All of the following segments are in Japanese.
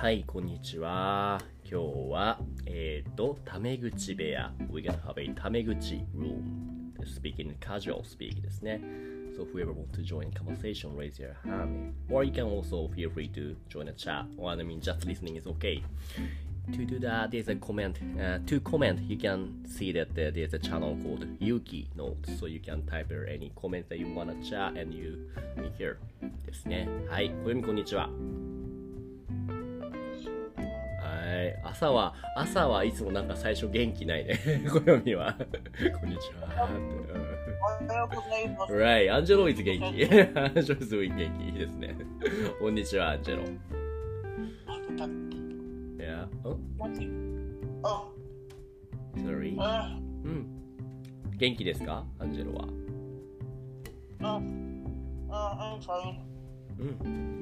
はい、こんにちは。今日は、タメ口部屋。We're gonna have a タメ口 room. Speaking casual speak ですね。So whoever wants to join conversation, raise your hand. Or you can also feel free to join a chat. Or I mean, just listening is okay. To do that, there's a comment. To comment, you can see that there's a channel called Yuki Notes. So you can type any comment that you want to chat and you hear ですね。はい、小読みこんにちは。はい、朝はいつもなんか最初元気ないね。小読みは。こんにちは。 おはようございます。 Right, アンジェロ is 元気。アンジェロ is doing 元気。いいですね。こんにちは、アンジェロ。Yeah. Oh? Sorry. うん。元気ですか、アンジェロは。 I'm fine. うん。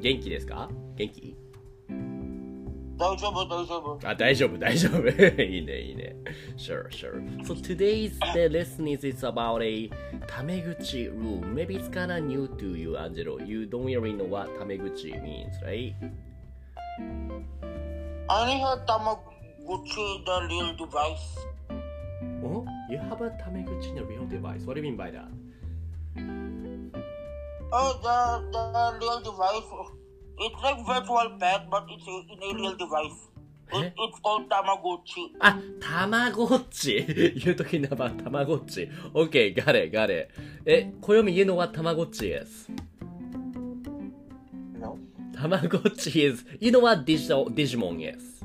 元気ですか？元気？ 大丈夫。 あ、大丈夫。いいね。Sure. So today's the lesson is about a タメ口 room. Maybe it's kinda new to you, Angelo. You don't really know what タメ口 means, right? I have Tamagotchi, the real device. Oh? You have a タメ口 in a real device. What do you mean by that? The real device. It's like virtual pet, but it's in a real device. It's called Tamagotchi. あ、たまごっち。You're talking about たまごっち。Okay, got it. 暦you know what たまごっち is? No. たまごっち is, you know what Digimon is?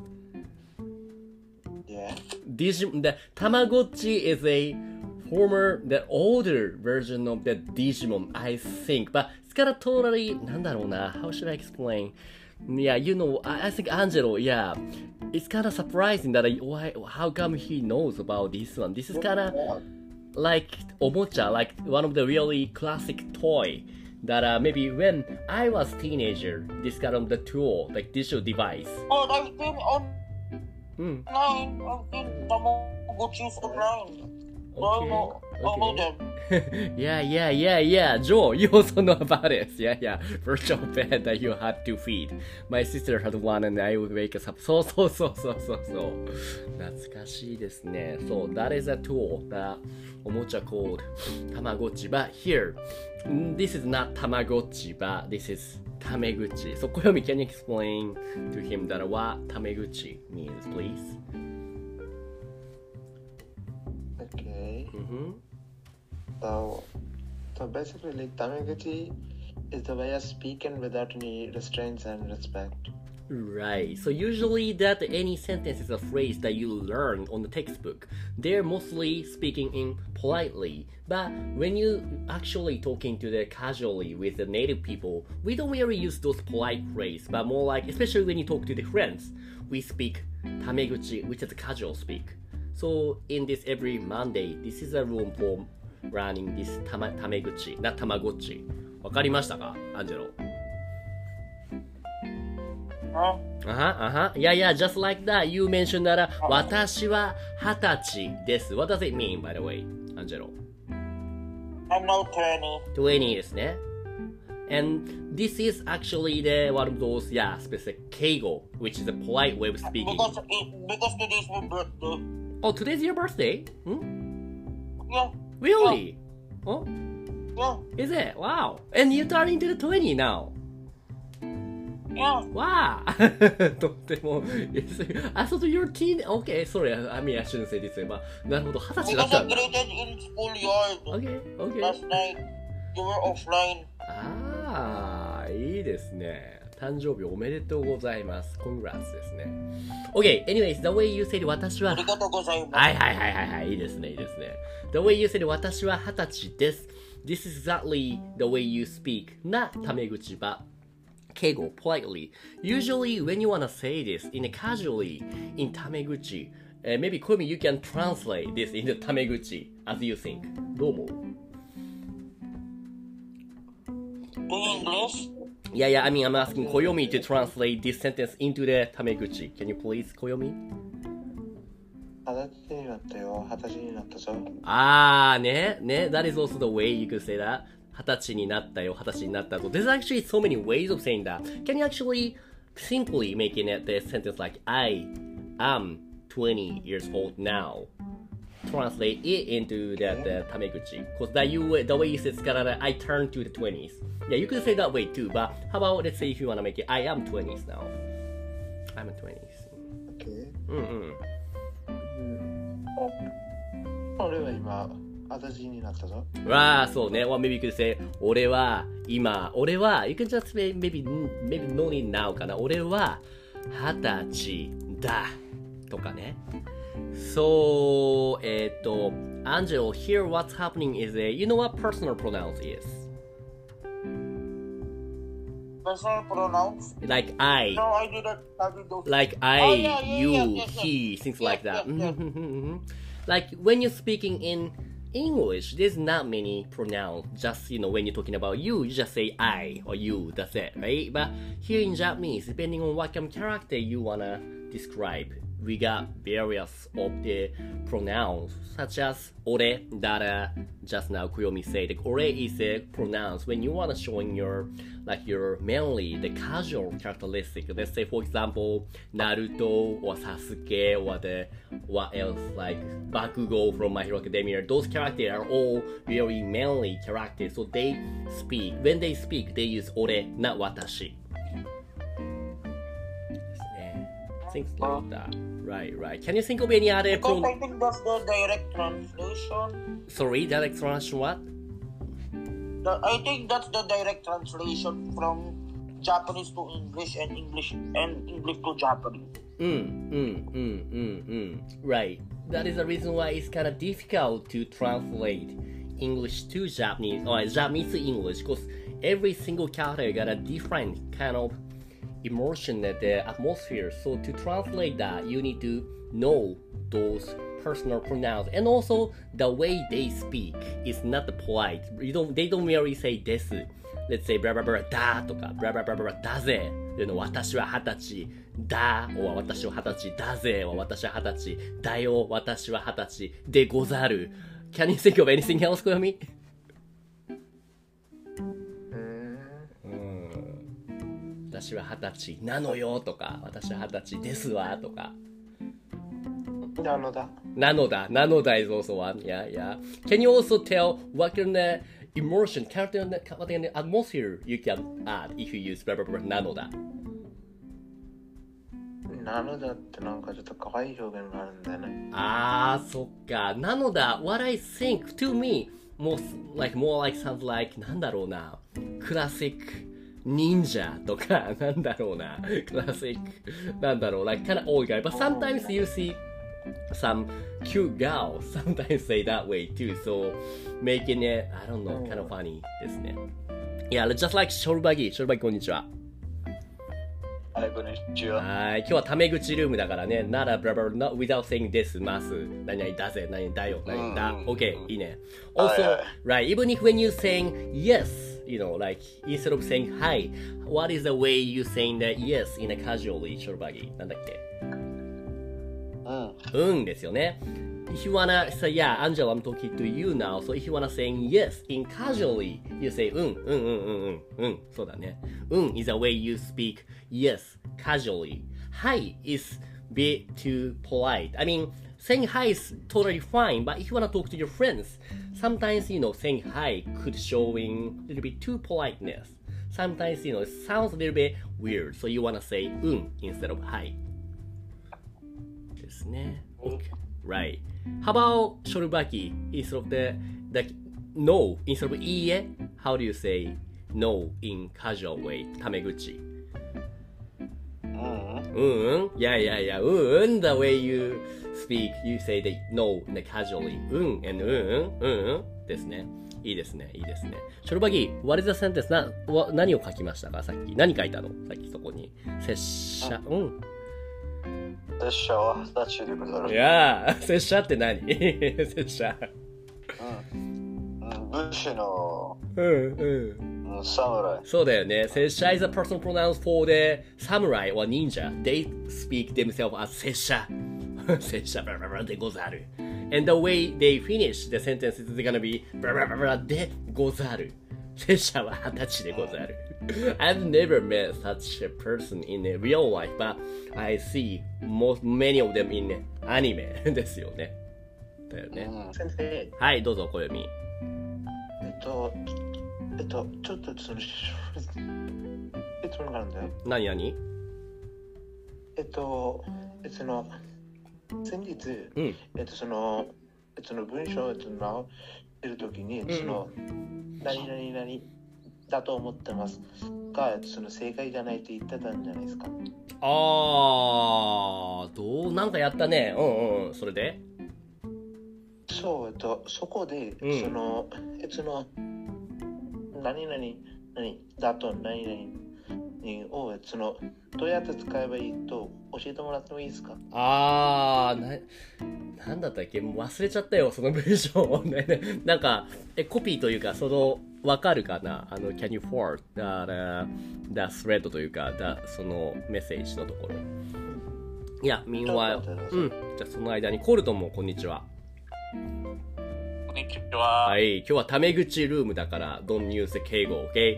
Yeah. The Tamagotchi is a the older version of the Digimon, I think. But it's kind of totally, なんだろうな, how should I explain? Yeah, you know, I think Angelo, yeah. It's kind of surprising that how come he knows about this one? This is kind of like omocha, like one of the really classic toy that maybe when I was teenager, this kind of the tool, like digital device. But I've been online. I've been Tamagotchis online. Okay. Yeah. Joe, you also know about it. Yeah. Virtual pet that you had to feed. My sister had one and I would wake us up. そう。懐かしいですね。So that is a tool that おもちゃ called Tamagotchi. But here, this is not Tamagotchi, but this is タメ口. So Koyomi, can you explain to him that what タメ口 means, please? Okay. Mm-hmm. So basically, like Tamagotchi is the way of speaking without any restraints and respect. Right. So usually that any sentence is a phrase that you learn on the textbook. They're mostly speaking in politely. But when you actually talking to the casually with the native people, we don't really use those polite phrases, but more like, especially when you talk to the friends, we speak tameguchi, which is casual speak. So in this every Monday, this is a room for learning this タメ口 not たまごっち。わかりましたか、アンジェロ？Yeah, just like that. You mentioned that 私は20歳です。What does it mean, by the way, アンジェロ？ I'm now 20. 20ですね。And this is actually the one of those, specific 敬語, which is a polite way of speaking. Because today's my birthday. Oh, today's your birthday? Yeah. Really? Oh? Yeah. Is it? Wow. And you're turning to the 20 now. Yeah. Wow. とっても、I thought you're teen. Okay, sorry. I mean, I shouldn't say this. まあ、なるほど、20歳だっ Because た I んだ。 graded in schoolyard. Okay. Last night. You were offline. いいですね。誕生日おめでとうございます。Congrats ですね。Okay, anyways, the way you said 私は、 ありがとうございます。 はい。いいですね。The way you said 私は20歳です。This is exactly the way you speak. Not タメ口 but 敬語 politely. Usually when you wanna say this in a casually in タメ口, maybe Komi you can translate this into タメ口 as you think. どう思う？ Do English? Yeah, I mean, I'm asking Koyomi to translate this sentence into the タメ口. Can you please, Koyomi? 20歳になったよ。20歳になったぞ。 ね。That is also the way you could say that. 20歳になったよ、20歳になったぞ. There's actually so many ways of saying that. Can you actually simply making it the sentence like I am 20 years old now. Translate it into the tameguchi. Because the way you say it's gonna, I turn to the 20s. Yeah, you could say that way too, but how about let's say if you wanna make it, I am 20s now. I'm 20s. OK。俺は今、私になったぞ。 そうね。Well, maybe you could say, 俺は、you can just say, maybe no need now かな。俺は、20歳だ。とかね。So, Angel, here what's happening is, you know what personal pronouns is? Personal pronouns? Like I. No, I didn't study those. Like I, you, he, things like that. Like when you're speaking in English, there's not many pronouns. Just, when you're talking about you just say I or you, that's it, right? But here in Japanese, depending on what kind of character you wanna describe, we got various of the pronouns, such as ore that just now Kuyomi said. Like, ore is a pronounce when you want to show in your mainly the casual characteristic. Let's say, for example, Naruto or Sasuke or what else, like Bakugo from My Hero Academia. Those characters are all very manly characters. So when they speak, they use ore, not watashi. Things like that. Right. Can you think of any other Because I think that's the direct translation. Sorry, direct translation what? I think that's the direct translation from Japanese to English and English to Japanese. Right. That is the reason why it's kind of difficult to translate English to Japanese or Japanese to English, because every single character got a different kind of emotion at the atmosphere. So to translate that, you need to know those personal pronouns, and also the way they speak is not polite. They don't merely say desu. Let's say blah blah blah da とか blah blah blah blah だぜ。私は20歳だ or 私は20歳だぜ or 私は20歳だよ私は20歳でござる。Can you think of anything else, Koyomi? 私は20歳なのよとか、私は20歳ですわとか。 なのだ。 is also one. Yeah. Can you also tell what kind of emotion, character, what kind of atmosphere you can add if you use blah blah blah なのだ。 なのだってなんかちょっと可愛い表現があるんだよね。 そっか。なのだ。What I think to me more like sounds like なんだろうな。クラシック。忍者とか、なんだろうな。クラシック。なんだろう。Like kind of old guy. But sometimes you see some cute girls sometimes say that way too. So making it, I don't know, kind of funny ですね。Yeah, just like ショルバギこんにちは。 はい、こんにちは。 はい、今日はタメ口ルームだからね。not a blah blah not without saying this ます。何々だぜ、何々だよ、何々だ。OK、いいね。Also, right, even if when you saying yes, like instead of saying hi, what is the way you saying that yes in a casually ショルバギなんだっけ？ですよね。If you wanna say, yeah, Angela, I'm talking to you now. So if you wanna say yes in casually, you say そうだね。is a way you speak yes casually. Hi is bit too polite. I mean, saying hi is totally fine, but if you wanna talk to your friends, sometimes, saying hi could showing a little bit too politeness. Sometimes, it sounds a little bit weird. So you wanna say instead of hi. ですね。Okay. Right. How about ショルバキ instead of the no instead of いいえ How do you say no in casual way? タメ口。Yeah. The way you speak, you say the no casually. and ですね。いいですね。ショルバギ、what is the sentence? 何を書きましたかさっき。何書いたのさっきそこに。拙者。 拙者は20歳でござる。 いやー、拙者って何拙者。 武士の侍。そうだよね。拙者 is a personal pronoun for the samurai or ninja. They speak themselves as 拙者。拙者でござる。And the way they finish the sentence is gonna be でござる。 拙者は20歳でござる。I've never met such a person in real life, but I see many of them in anime ですよね。だよね。 先生、 はい、どうぞ、小読み。 ちょっとその質問があるんだよ。 何々？ その先日、その文章を直してるときに、その何々だと思ってますが、その正解じゃないって言ってたんじゃないですか。 なんかやったね。それで？ そう、そこで、その何々だと何々をどうやって使えばいいと教えてもらってもいいですか？ なんだったっけ、もう忘れちゃったよ、その文章ね。なんかコピーというか、わかるかな、can you forward the thread というか、そのメッセージのところ。いや、meanwhile、じゃあその間にコルトンもこんにちは。 こんにちは。 はい、今日はタメ口ルームだから、don't use 敬語、OK？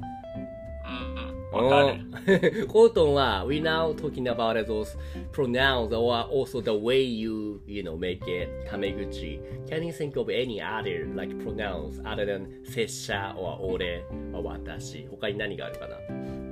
コートンは we now talking about those pronouns or also the way you make it タメ口。Can you think of any other like pronouns other than 拙者 or 俺 or 私？他に何があるかな？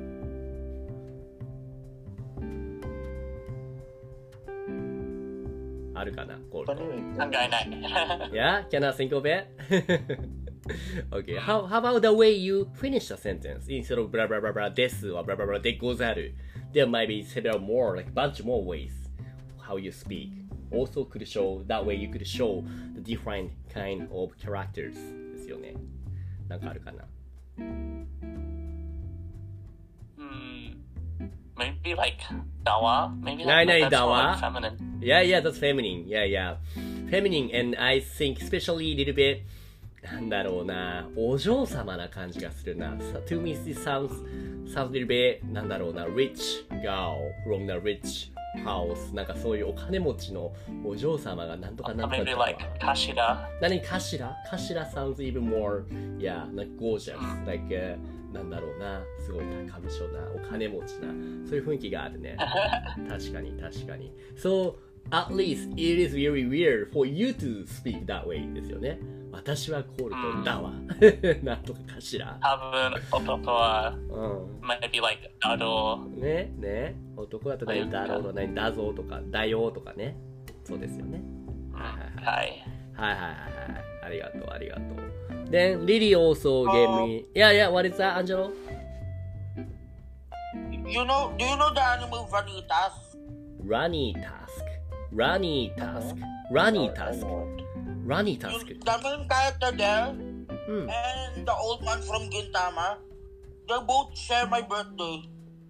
あるかな？コートン。 考えない。 Yeah? Can I think of it? Okay. How about the way you finish a sentence instead of blah blah blah blah ですor blah blah blah でござる There might be several more, like bunch more ways how you speak. Also could show, that way you could show the different kind of characters ですよね。なんかあるかな？ Maybe like だわ Maybe ないない that's だわ more like feminine. Yeah, that's feminine. Yeah. Feminine and I think especially a little bitなんだろうな、お嬢様な感じがするな。To me, it sounds a little bit なんだろうな、rich girl from the rich house なんかそういうお金持ちのお嬢様がなんとかなんとか Maybe like 頭。 何頭 sounds even more like gorgeous like、なんだろうな、すごい高みしょなお金持ちなそういう雰囲気があるね。確かに。So at least it is very weird for you to speak that way ですよね。私はコールトンだわ。なんとかかしら。 多分男は、maybe like だろう。 ね。男だと何だろうと何だぞとかだよとかね。そうですよね。 はい。 ありがとう。Then Lily also gave me. Yeah. What is that, Angelo? Do you know the anime Runny Task? The main character there and the old man from Gintama, they both share my birthday.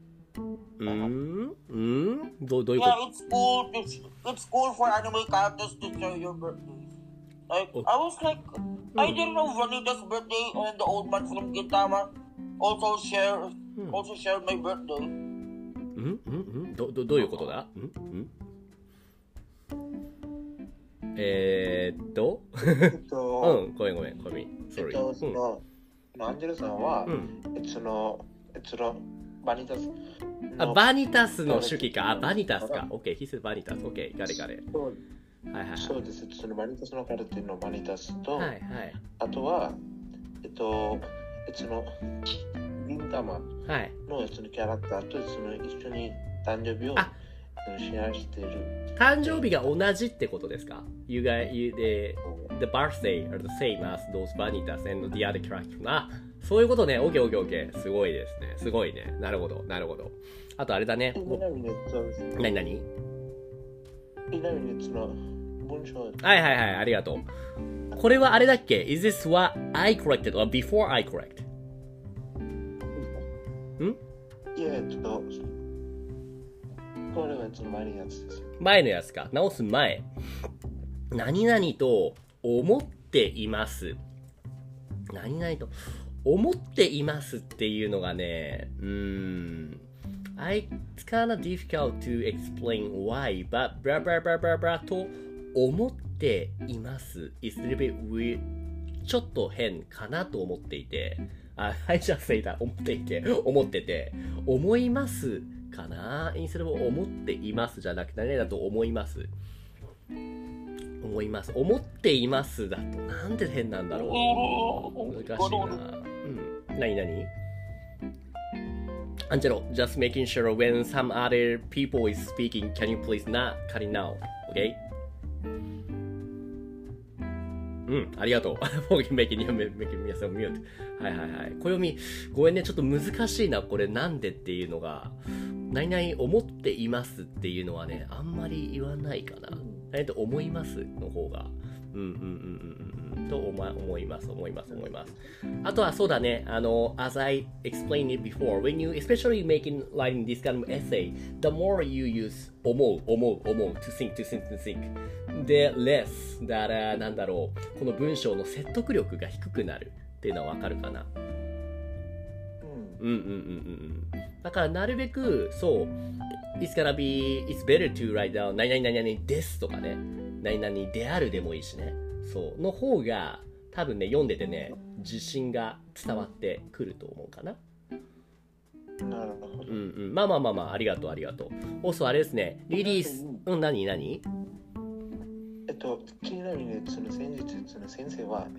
どういうこ Yeah, it's cool for anime characters to share your birthday. Like, I was like, I didn't know Vanita's birthday and the old man from Gintama also share my birthday. とどういうことだ？ごめん。Sorry. アンジェルさんは、バニタス。 バニタスの手記か。バニタスか。OK, he said バニタス。OK, ガレ。 そうです。そのバニタスのカルテのバニタスと、 はい。 あとは、銀玉のそのキャラクターとその一緒に誕生日をシェアしている。 誕生日が同じってことですか？ the birthday are the same as those vanitas and the other characters. そういうことね。OK。すごいですね。すごいね。なるほど。あとあれだね。何文章。はい。ありがとう。これはあれだっけ？ Is this what I corrected or before I correct? いや、これは前のやつです。 前のやつか。直す前。何々と思っています。何々と思っていますっていうのがね、It's kind of difficult to explain why, but blah blah blah blah blah と思っています。It's a little bit weird. ちょっと変かなと思っていて、I just say that 思ってて、思いますかな？インスタも思っていますじゃなくて、何だと思います。思っていますだとなんで変なんだろう。難しいな。何アンジェロ、just making sure when some other people is speaking, can you please not cut it now? Okay? ありがとう。for making yourself mute. はいはいはい。暦、ごめんね、ちょっと難しいな、これなんでっていうのが。何々思っていますっていうのはね、あんまり言わないかな。何と思いますの方が。と思います。あとはそうだね、as I explained it before, when you, especially writing this kind of essay, the more you use 思う to think, the less that, なんだろう、この文章の説得力が低くなるっていうのはわかるかな。だからなるべく、そう、it's better to write down 何々ですとかね、何々であるでもいいしね。そう。の方が、多分ね、読んでてね、自信が伝わってくると思うかな。 なるほど。 まあ、ありがとう。also あれですね、リリース、何ちなみに、その先日、その先生は、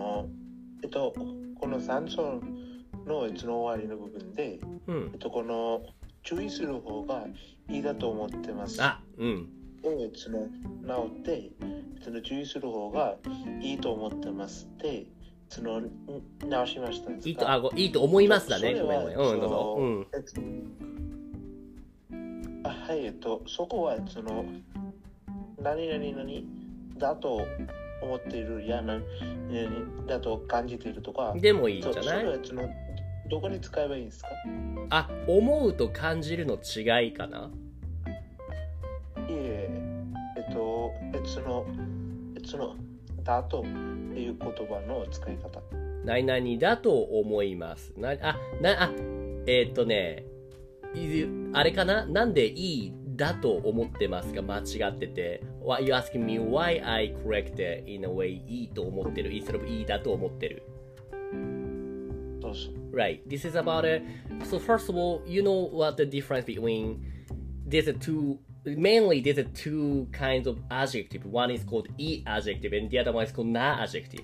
この3章の終わりの部分で、この注意する方がいいだと思ってます。直って、注意する方がいいと思ってますって、直しましたんですか？ いいと思いますだね。ごめん。どうぞ。 はい、そこは、何だと思っているや何だと感じているとか。 でもいいんじゃない？ それはどこに使えばいいんですか？ 思うと感じるの違いかな？ いえ、だとっていう言葉の使い方。 何々だと思います。あれかな？なんでいいだと思ってますが間違ってて。You asking me why I correct it in a way いいと思ってる instead of いいだと思ってる。Right. This is about so first of all, you know what the difference between there's two kinds of adjective. One is called e adjective and the other one is called na adjective.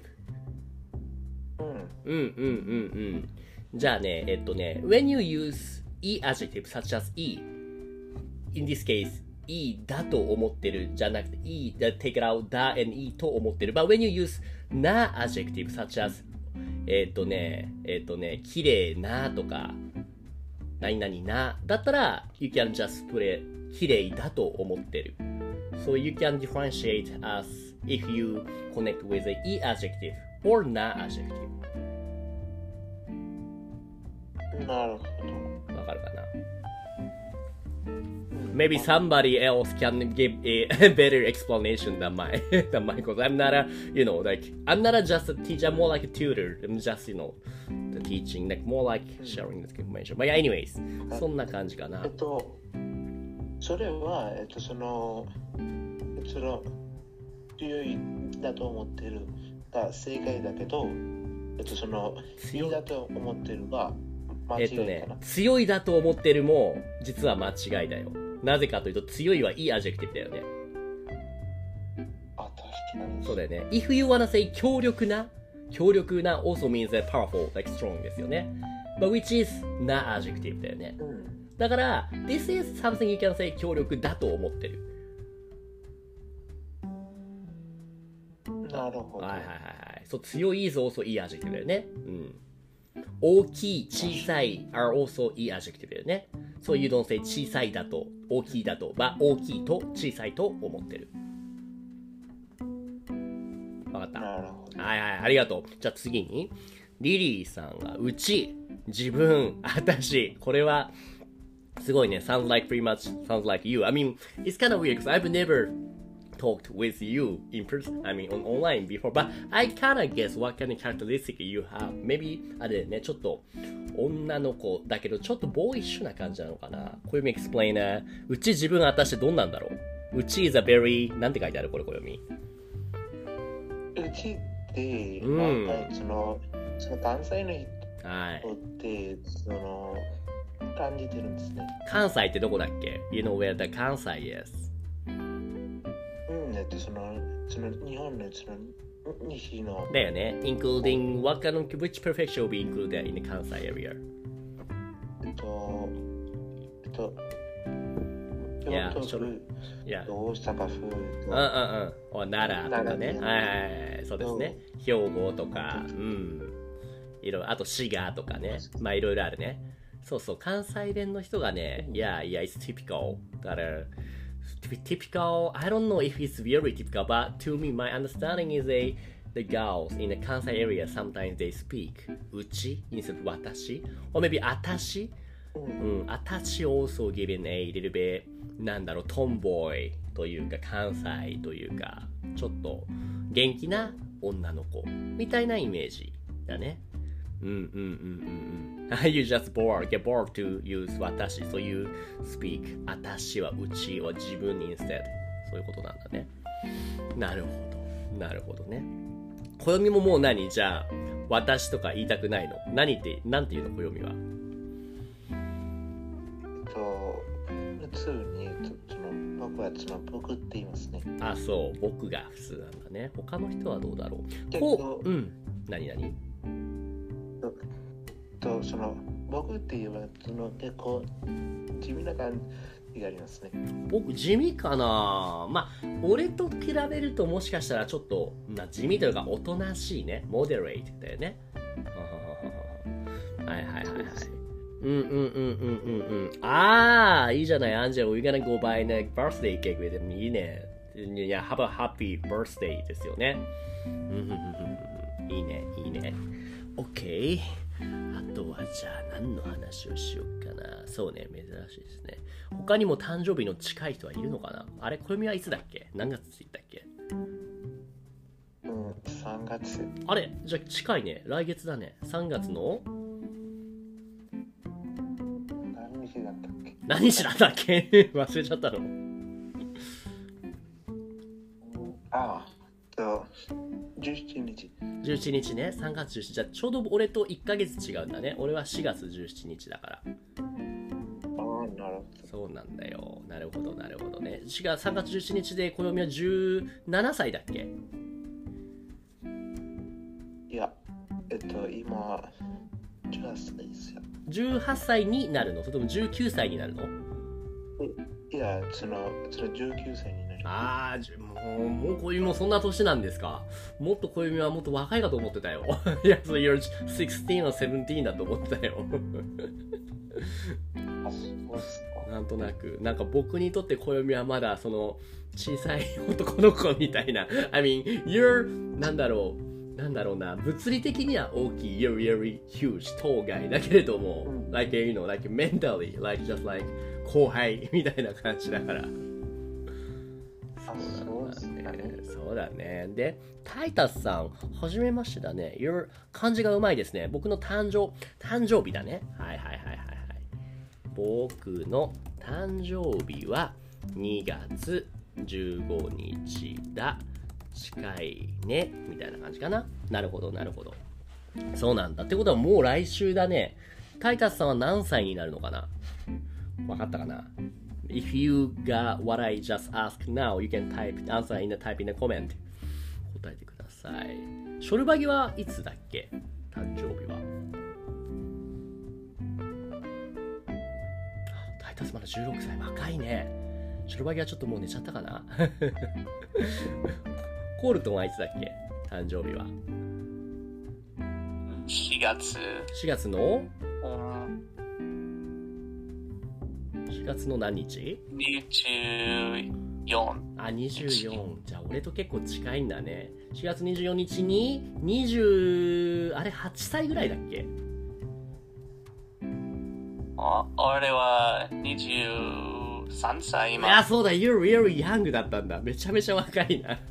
じゃあね、when you use e adjective such as e, in this case, e だと思ってるじゃなくて e take it out だ and e と思ってる。But when you use na adjective such as 綺麗なとか何々なだったら you can just put it 綺麗だと思ってる。So you can differentiate as if you connect with the e adjective or na adjective. なるほど。わかるかな？ Maybe somebody else can give a better explanation than mine because I'm not I'm not just a teacher, I'm more like a tutor. I'm just, the teaching, like more like sharing this information. But anyways, そんな感じかな。 それは、強いだと思ってるが正解だけど、強いだと思ってるが間違いかな。 強いだと思ってるも実は間違いだよ。なぜかというと強いはいいアジェクティブだよね。 確かに。 そうだよね。If you wanna say 強力な also means that powerful, like strong ですよね。But which is not adjective だよね。だから、this is something you can say 強力だと思ってる。 なるほど。 そう、強い is also いいアジェクティブだよね。大きい、小さい are also いいアジェクティブだよね。So you don't say 小さいだと、大きいだと、大きいと小さいと思ってる。わかった。ありがとう。じゃあ次に、リリーさんが、うち、自分、私、これは、すごいね。sounds like you. I mean, it's kind of weird because I've never talked with you in person, I mean, on online before, but I kind of guess what kind of characteristic you have. Maybe, あれね、ちょっと、女の子だけど、ちょっとボーイッシュな感じなのかな。これ explain うち自分私どんなんだろう。うち is a very なんて書いてあるこれ読み。 うちで、 うんなんかその関西のはい。 人って感じてるんですね。 関西ってどこだっけ？ You know where the 関西 is? その日本の西のだよね。Including what kind of which prefecture will be included in the 関西 area? 京都府、 いや。 大阪府、 お奈良とかね。はい。そうですね。兵庫とか、いろいろ、あと滋賀とかね。まあいろいろあるね。そうそう、関西弁の人がね、yeah, it's typical. だから、typical, I don't know if it's very typical, but to me, my understanding is the girls in the Kansai area, sometimes they speak うち instead of 私 or maybe あたしあたし also given a little bit なんだろう、トンボーイというか関西というかちょっと元気な女の子みたいなイメージだね。You just get bored to use 私 so you speak あたしはうちは自分 instead そういうことなんだね。なるほどね。暦ももう何じゃあ私とか言いたくないの？なんて言うの暦は？ 普通に僕は僕って言いますね。 あ、そう僕が普通なんだね。他の人はどうだろう？何僕って言えば結構地味な感じがありますね。僕地味かな。まあ俺と比べるともしかしたらちょっと地味というかおとなしいね。モデレートだよね。はいああいいじゃないアンジェル。 We're gonna go buy a birthday cake with him. いいね。いや Have a happy birthday ですよね。いいね。OK。あとはじゃあ何の話をしようかな。そうね、珍しいですね。他にも誕生日の近い人はいるのかな。あれ、暦はいつだっけ？何月って言ったっけ ？3月。 あれ、じゃあ近いね。来月だね。3月の何日だったっけ忘れちゃったの。 17日。 17日ね。3月17日。じゃあちょうど俺と1ヶ月違うんだね。俺は4月17日だから。 なるほど。 そうなんだよ。なるほどね。3月17日で暦は17歳だっけ？ いや、今18歳ですよ。 18歳になるの？それとも19歳になるの？ いや、その19歳になる。 ああ、もう暦もそんな年なんですか？もっと暦はもっと若いかと思ってたよ。いや、you're 16 or 17だと思ってたよ。 あ、そうですか。 なんとなく、なんか僕にとって暦はまだその小さい男の子みたいな。I mean, you're なんだろうな、物理的には大きい you're really huge 当該だけれども、like you know, like mentally, like just like 後輩みたいな感じだから。そうだね。で、タイタスさん、はじめましてだね。漢字がうまいですね。僕の誕生日だね。はい。僕の誕生日は2月15日だ。近いね。みたいな感じかな。なるほど。そうなんだ。ってことはもう来週だね。タイタスさんは何歳になるのかな？わかったかな？ If you got what I just asked now, you can answer in the comment. 答えてください。ショルバギはいつだっけ？誕生日は。タイタスまだ16歳。若いね。ショルバギはちょっともう寝ちゃったかな。コールトンはいつだっけ？誕生日は。 4月。 4月の4月の何日？ 24。 あ、24。じゃあ俺と結構近いんだね。4月24日に20、あれ8歳ぐらいだっけ？ 俺は23歳今。 あ、そうだ、You're really young だったんだ。めちゃめちゃ若いな。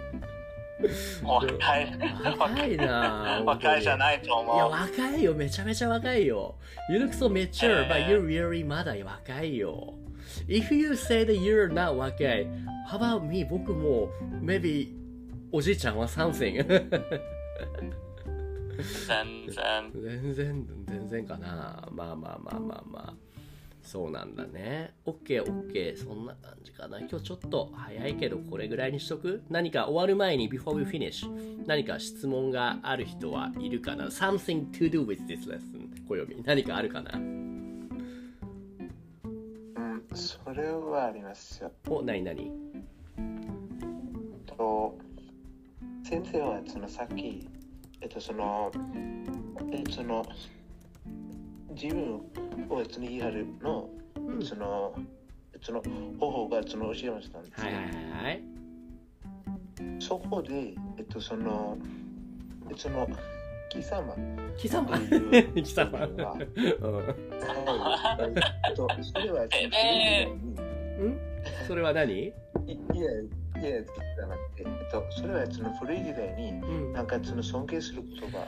若いな。 若いじゃないと思う。 いや、若いよ。めちゃめちゃ若いよ。You look so mature, but you're really まだ若いよ。If you say that you're not 若い、how about me? 僕も maybe おじいちゃんはsomething 全然かな。まあ。そうなんだね。OK。そんな感じかな。今日ちょっと早いけどこれぐらいにしとく？何か終わる前に before we finish 何か質問がある人はいるかな？ Something to do with this lesson 暦何かあるかな？ それはありますよ。 何先生はさっき自分を言い張るの方法が教えましたんですよ。 はい。 そこで貴様それはそれは何？ いやじゃなくて、それは古い時代になんか尊敬する言葉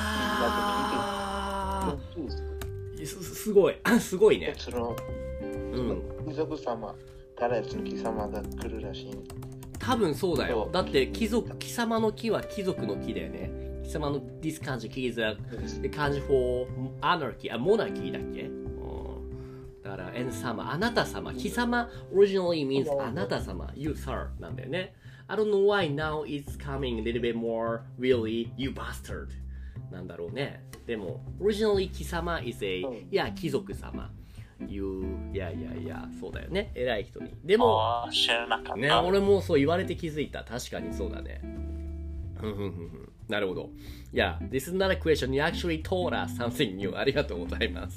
だと聞いて、 すごいね。 貴族様から貴様が来るらしい。 多分そうだよ。だって貴様の木は貴族の木だよね。貴様の this kanji is the kanji for anarchy、monarchy だっけ？だから and 様、あなた様、貴様 originally means あなた様、you sir なんだよね。I don't know why now it's coming a little bit more really you bastard なんだろうね。でも originally 貴様 is a 貴族様。そうだよね。偉い人に。でも知らなかった。 ね、俺もそう言われて気づいた。確かにそうだね。なるほど。this is not a question. You actually told us something new. ありがとうございます。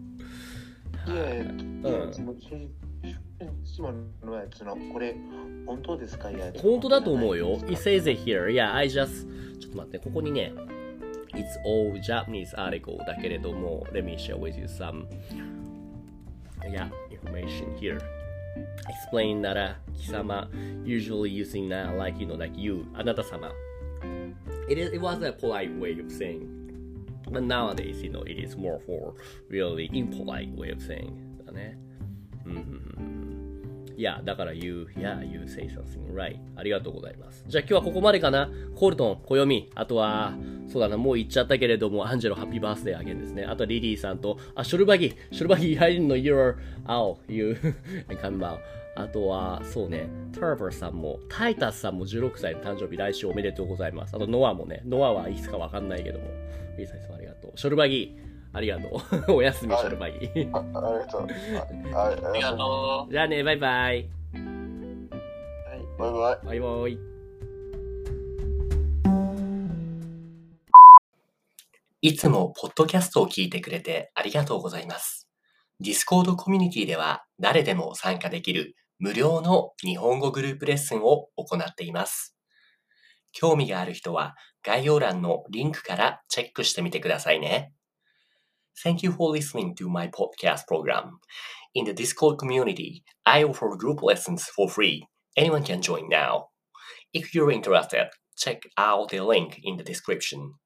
これ本当ですか？ 本当だと思うよ。It says it here. I just ちょっと待って、ここにね、It's all Japanese article だけれども、Let me share with you some information here. Explain that 貴様 usually using like you あなた様。It was a polite way of saying.But nowadays, it is more for really impolite way of saying だね。だから you say something right. ありがとうございます。じゃあ今日はここまでかな。コルトン、暦、あとは、そうだな、もう言っちゃったけれども、アンジェロ、ハッピーバースデーあげんですね。あとはリリーさんと、ショルバギ、I didn't know you're out, you come out. あとは、そうね、ターバーさんも、タイタスさんも16歳の誕生日、来週おめでとうございます。あとノアもね、ノアはいつかわかんないけども、リーさんいつもありがとう。ショルバギ、ありがとう。おやすみ、ショルバギ。 ありがとう。 ありがとう。 じゃあね、バイバイ。 バイバイ。 バイバイ。いつもポッドキャストを聞いてくれてありがとうございます。Discord コミュニティでは誰でも参加できる無料の日本語グループレッスンを行っています。興味がある人は概要欄のリンクからチェックしてみてくださいね。Thank you for listening to my podcast program. In the Discord community, I offer group lessons for free. Anyone can join now. If you're interested, check out the link in the description.